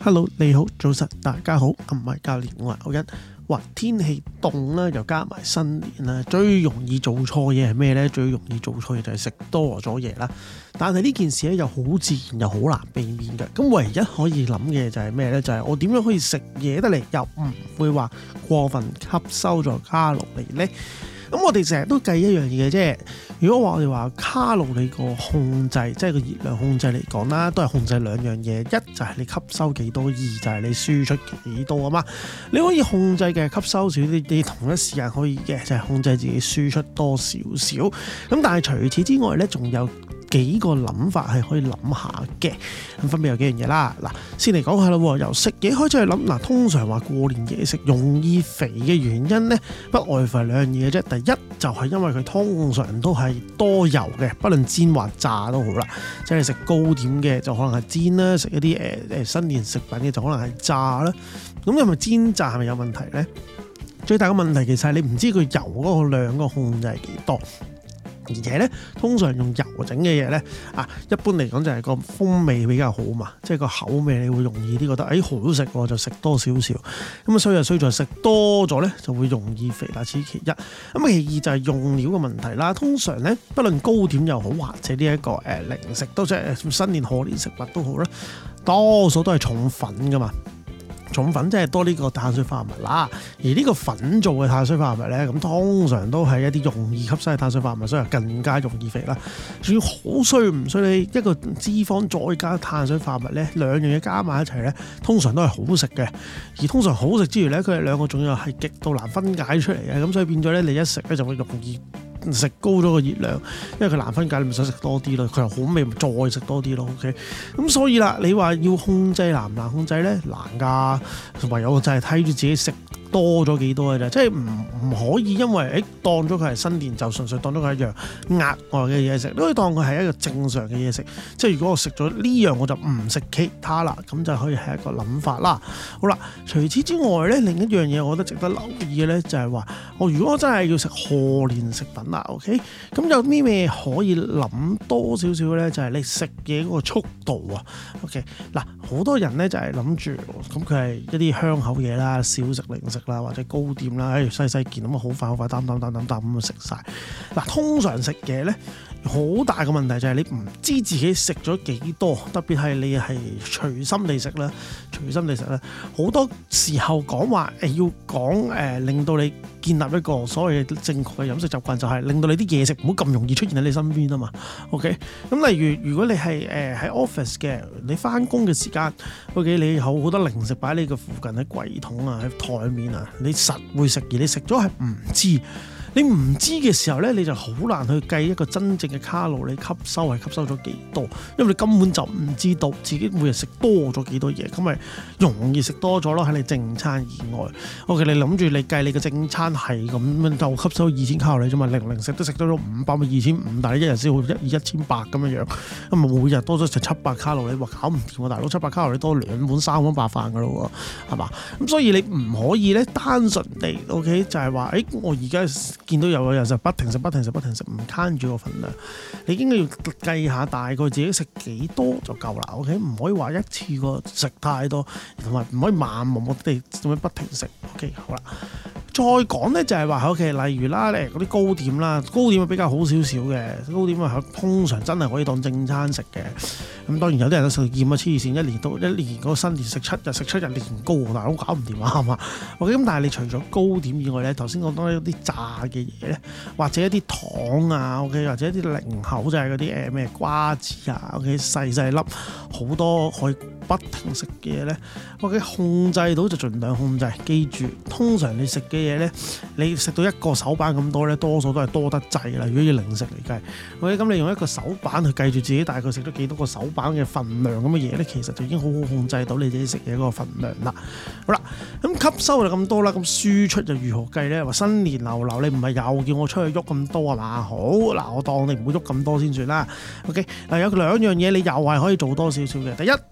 Hello， 你好，早晨，大家好，唔係教練，我係歐欣。哇，天氣凍啦，又加埋新年啦，最容易做錯嘢係咩呢？最容易做錯嘢就係食多咗嘢啦。但係呢件事咧又好自然又好難避免嘅。咁唯一可以諗嘅就係咩呢？就係我點樣可以食嘢得嚟又唔會話過分吸收咗卡路里呢？咁我哋成日都計一樣嘢啫。如果話我哋話卡路里個控制，即係個熱量控制嚟講啦，都係控制兩樣嘢，一就係你吸收幾多，二就係你輸出幾多啊嘛。你可以控制嘅吸收少啲，你同一時間可以嘅就係控制自己輸出多少少。咁但係除此之外咧，仲有幾個諗法係可以諗下嘅。咁分別有幾樣嘢啦。嗱，先嚟講下啦，由食嘢開始去諗。嗱，通常話過年嘢食容易肥嘅原因咧，不外乎係兩樣嘢啫。第一就係因為佢通常都係多油嘅，不論煎或炸都好啦。即係食糕點嘅就可能係煎啦，食一啲新年食品嘅就可能係炸啦。咁係咪煎炸係咪有問題咧？最大嘅問題其實係你唔知佢油嗰個量嗰個控制係幾多。而且咧，通常用油整嘅嘢咧，一般嚟講就係個風味比較好嘛，即係個口味你會容易啲覺得，好食喎，就食多少少。咁衰就衰在食多咗咧，就會容易肥啦。此其一。咁其二就係用料嘅問題啦。通常咧，不論糕點又好，或者呢一個零食都即係新年賀年食物都好啦，多數都係重粉噶嘛。重粉即係多呢個碳水化合物啦，而呢個粉做嘅碳水化合物咧，咁通常都係一啲容易吸收嘅碳水化合物，所以更加容易肥啦。仲要好衰唔衰？你一個脂肪再加碳水化合物咧，兩樣嘢加埋一齊咧，通常都係好食嘅。而通常好食之餘咧，佢哋兩個仲要係極度難分解出嚟嘅，咁所以變咗咧，你一食咧就會容易食高咗個熱量，因為佢難分解，你咪想食多啲咯。佢又好味，咪再食多啲咯。OK，咁所以啦，你話要控制難唔難控制咧？難㗎，唯有就係睇住自己食多咗幾多嘅啫。即係唔可以因為當咗佢係新年就純粹當咗佢一樣額外嘅嘢食，你可以當佢係一個正常嘅嘢食。即係如果我食咗呢樣，我就唔食其他啦，咁就可以係一個諗法啦。好啦，除此之外咧，另一樣嘢我覺得值得留意嘅咧，就係話我如果真係要食賀年食品啦 ，OK， 咁有咩可以諗多少少咧？就係你食嘢嗰個速度啊 ，OK， 嗱，好多人咧就係諗住咁佢係一啲香口嘢啦、小食零食啦或者糕點啦，細細件咁啊，好快擔咁啊食晒。嗱，通常食嘢咧好大嘅問題就係你唔知自己食咗幾多，特別係你係隨心地食啦，好多時候講話要講令到你建立一個所謂嘅正確嘅飲食習慣，就係令到你啲嘢食唔好咁容易出現喺你身邊啊嘛。OK， 咁例如果你係喺 office 嘅，你翻工嘅時間 ，OK， 你有好多零食擺喺你嘅附近，喺櫃桶啊，喺台面啊，你實會食，而你食咗係唔知。你唔知嘅時候咧，你就好難去計一個真正嘅卡路里吸收係吸收咗幾多，因為你根本就唔知道自己每日食多咗幾多嘢，咁咪容易食多咗咯。喺你正餐以外 ，OK， 你諗住你計你嘅正餐係咁就吸收2000卡路里啫嘛，零食都食多咗500咪2500，但係一日先會1800咁樣樣，咁咪每日多咗成700卡路里，話搞唔掂喎，大佬700卡路里多2碗3碗白飯噶咯喎，係嘛？咁所以你唔可以咧單純地 OK 就係話我而家見到有個人就不停食，唔慳住個份量。你應該要計下大概自己食幾多就夠啦。OK， 唔可以話一次過食太多，同埋唔可以漫無目的咁樣不停食。OK， 好啦。再講咧就係話，OK，例如啦，嗰啲糕點啦，糕點比較好少少嘅，糕點啊通常真係可以當正餐食嘅。咁當然有啲人都食厭啊，黐線，一年嗰個新年食7日年糕，但係都搞唔掂啊，係嘛？OK，咁但係你除咗糕點以外咧，頭先講多一啲炸嘅嘢咧，或者一啲糖啊 ，OK， 或者一啲零口就係嗰啲咩瓜子啊 ，OK， 細粒好多可以不停食嘅嘢咧 ，OK， 控制到就盡量控制。記住，通常你食嘅嘢咧，你食到一個手板咁多咧，多數都係多得滯啦。如果要零食嚟計 ，OK， 咁你用一個手板去計住自己大概食咗幾多個手板嘅份量咁嘅嘢咧，其實就已經好好控制到你自己食嘢嗰個份量啦。好啦，咁吸收就咁多啦，咁輸出就如何計咧？話新年流流，你唔係又叫我出去喐咁多係嘛？好嗱，我當你唔會喐咁多先算啦。OK，嗱，有兩樣嘢你又係可以做多少少嘅。第一，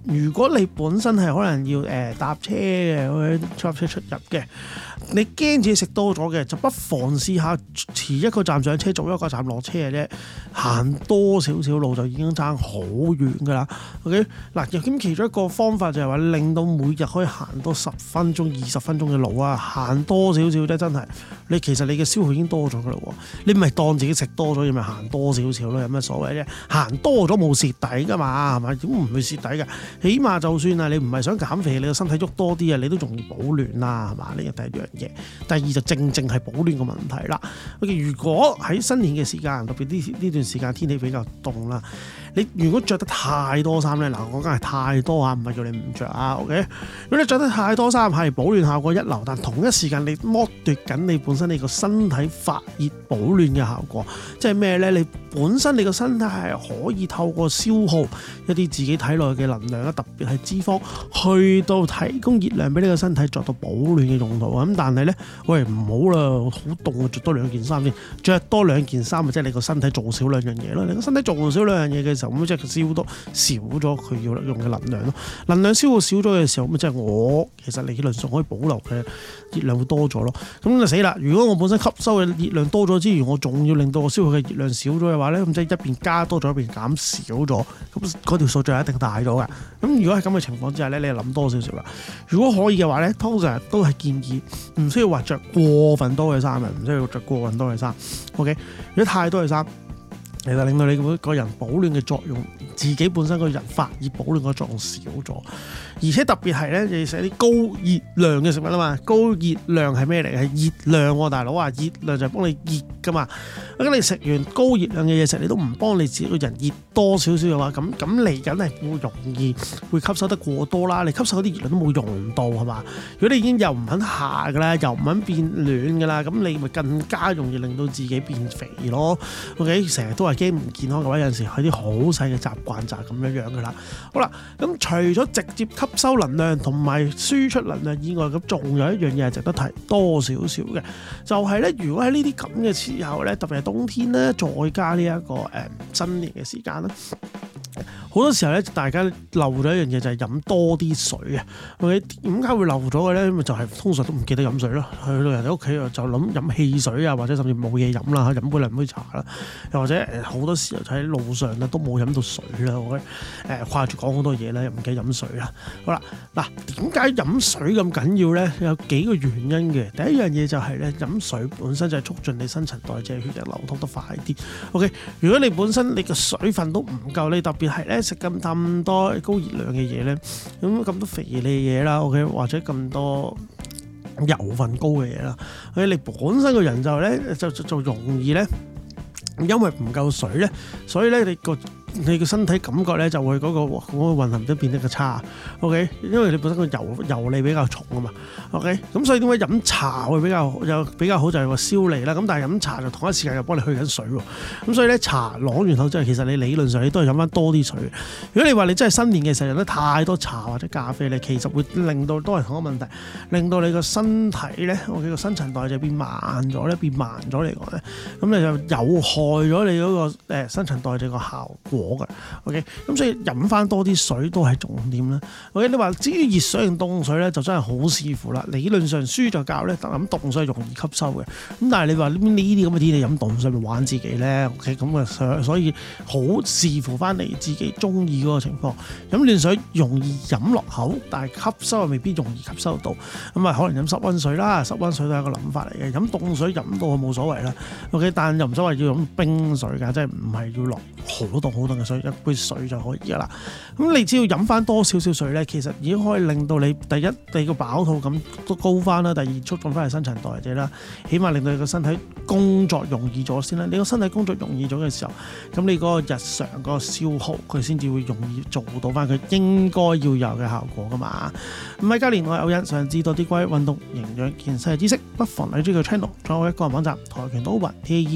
如果你本身係可能要搭車嘅，搭車出入嘅，你驚自己食多咗嘅，就不妨試下遲一個站上車，早一個站落車嘅啫，行多少少路就已經爭好遠㗎啦。OK， 嗱，咁其中一個方法就係話令到每日可以行多10分鐘、20分鐘嘅路啊，行多少少啫，真係其實你嘅消耗已經多咗㗎啦喎，你唔係當自己食多咗，你咪行多少少咯，有咩所謂啫？行多咗冇蝕底㗎嘛，係咪？點唔會蝕底㗎？起碼就算啊，你唔係想減肥，你個身體喐多啲啊，你都容易保暖啦，係嘛？呢個第一樣嘢。第二就正係保暖個問題啦。OK， 如果喺新年嘅時間，特別呢段時間天氣比較凍啦，你如果着得太多衫咧，嗱，我講係太多啊，唔係叫你唔着啊。OK， 如果你着得太多衫，係保暖效果一流，但同一時間你剝奪緊你本身你個身體發熱保暖嘅效果，即係咩咧？你本身你個身體係可以透過消耗一啲自己體內嘅能量啦，特別係脂肪，去到提供熱量俾你個身體作到保暖嘅用途。咁但係咧，喂，唔好啦，好凍啊，着多2件衫先，着多2件衫，即係你個身體做少2樣嘢咯。你個身體做少2樣嘢嘅時候，咁即係少咗佢要用嘅能量咯。能量消耗少咗嘅時候，咁即係我其實理論上可以保留嘅熱量會多咗咯。咁就死啦！如果我本身吸收嘅熱量多咗之餘，我仲要令到我消耗嘅熱量少咗嘅話咧，咁即係一邊加多咗，一邊減少咗，咁嗰條數就一定大咗㗎。咁如果係咁嘅情況之下咧，你就諗多少少啦。如果可以嘅話咧，通常都係建議唔需要話着過分多嘅衫嘅，唔需要着過分多嘅衫。OK， 如果太多嘅衫，其實令到你個人保暖嘅作用，自己本身個人發熱保暖嘅作用少咗，而且特別係咧，你食啲高熱量嘅食物啊嘛，高熱量係咩嚟？係熱量喎，大佬啊，熱量就係幫你熱噶嘛。咁你食完高熱量嘅嘢食，你都唔幫你自己個人熱多少少嘅話，咁嚟緊係會容易會吸收得過多啦。你吸收嗰啲熱量都冇用到係嘛？如果你已經又唔肯下㗎啦，又唔肯變暖㗎啦，咁你咪更加容易令到自己變肥咯。OK， 成日都係驚唔健康嘅話，有陣時係啲好細嘅習慣就係咁樣㗎啦。好啦，咁除咗直接吸收能量同埋輸出能量以外，咁仲有一樣嘢係值得提多少少嘅，就係咧，如果喺呢啲咁嘅時候咧，特別係冬天咧，再加呢一個新年嘅時間啦。好多時候咧，大家漏咗一樣嘢就係飲多啲水啊。OK， 點解會漏咗嘅咧？咁就係通常都唔記得飲水咯。去到人哋屋企就諗飲汽水啊，或者甚至冇嘢飲啦，飲杯2杯茶啦，又或者好多時候喺路上咧都冇飲到水啦。OK， 掛住講好多嘢咧，又唔記得飲水啦。好啦，嗱，點解飲水咁緊要咧？有幾個原因嘅。第一樣嘢就係咧，飲水本身就係促進你新陳代謝、血液流通得快啲。OK， 如果你本身你嘅水分都唔夠，你特別係咧食咁多高熱量嘅嘢咧，咁多肥膩嘢啦 ，OK， 或者咁多油分高嘅嘢啦，你本身個人就咧就容易咧，因為唔夠水咧，所以咧你個身體感覺咧就會嗰個運行都變得個差 ，OK， 因為你本身個油膩比較重啊嘛 ，OK， 咁所以點解飲茶會比較好就係話消膩啦，咁但係飲茶就同一時間又幫你去緊水喎，咁所以咧茶攞完後之後，其實你理論上你都係飲翻多啲水。如果你話你真係新年嘅時候飲得太多茶或者咖啡咧，其實會令到都係同一個問題，令到你個身體咧，OK，個新陳代謝變慢咗咧，嚟講咧，咁你就有害咗你嗰個新陳代謝個效果。OK， 咁所以飲翻多啲水都係重點啦。OK， 你話至於熱水定凍水咧，就真係好視乎啦。理論上書就教咧，飲凍水容易吸收嘅。咁但係你話呢啲咁嘅天氣飲凍水咪玩自己咧 ？OK， 咁啊，所以好視乎翻你自己中意嗰個情況。飲暖水容易飲落口，但係吸收又未必容易吸收到。咁啊，可能飲室溫水啦，室溫水都係一個諗法嚟嘅。飲凍水飲到冇所謂啦。OK， 但又唔所謂要飲冰水㗎，即係唔係要落好凍嘅水，一杯水就可以㗎啦。咁你只要飲翻多少少水咧，其實已經可以令到你第一個飽肚感都高翻啦，第二促進翻係新陳代謝啦，起碼令到你個身體工作容易咗先啦。你個身體工作容易咗嘅時候，咁你嗰個日常嗰個消耗佢先至會容易做到翻佢應該要有嘅效果㗎嘛。唔係教練，我係歐恩，想知多啲關於運動營養健身嘅知識，不妨嚟呢個 channel，仲有一個網站跆拳道奧運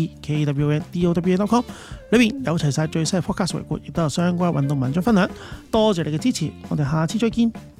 TAEKWONDOWEN.com， 裏邊有齊晒最新嘅 podcast 回顧，亦都有相關運動文章分享。多謝你嘅支持，我哋下次再見。